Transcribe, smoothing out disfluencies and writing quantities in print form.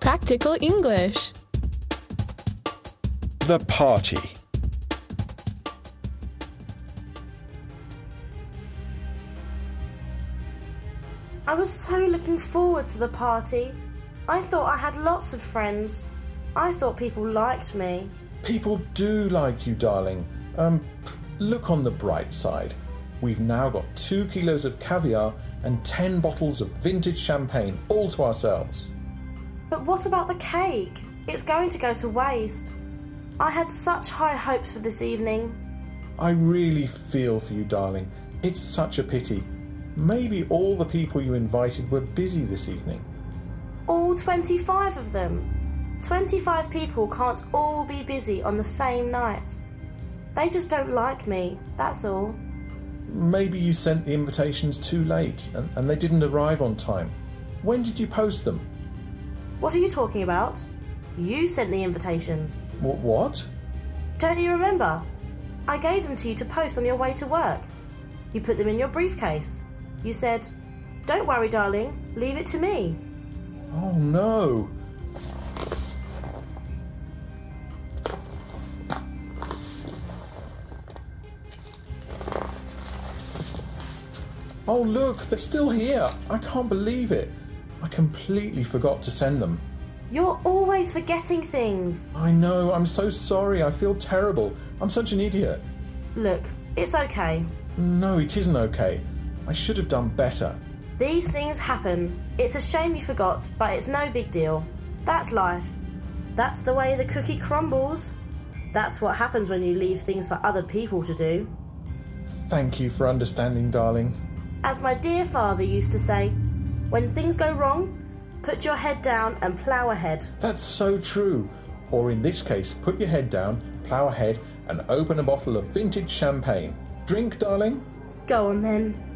Practical English. The party. I was so looking forward to the party. I thought I had lots of friends. I thought people liked me. People do like you, darling. Look on the bright side. We've now got 2 kilos of caviar and 10 bottles of vintage champagne all to ourselves. But what about the cake? It's going to go to waste. I had such high hopes for this evening. I really feel for you, darling. It's such a pity. Maybe all the people you invited were busy this evening. All 25 of them. 25 people can't all be busy on the same night. They just don't like me, that's all. Maybe you sent the invitations too late and they didn't arrive on time. When did you post them? What are you talking about? You sent the invitations. What? Don't you remember? I gave them to you to post on your way to work. You put them in your briefcase. You said, "Don't worry, darling, leave it to me." Oh no! Oh look, they're still here. I can't believe it. I completely forgot to send them. You're always forgetting things. I know, I'm so sorry. I feel terrible. I'm such an idiot. Look, it's okay. No, it isn't okay. I should have done better. These things happen. It's a shame you forgot, but it's no big deal. That's life. That's the way the cookie crumbles. That's what happens when you leave things for other people to do. Thank you for understanding, darling. As my dear father used to say, when things go wrong, put your head down and plough ahead. That's so true. Or in this case, put your head down, plough ahead, and open a bottle of vintage champagne. Drink, darling? Go on then.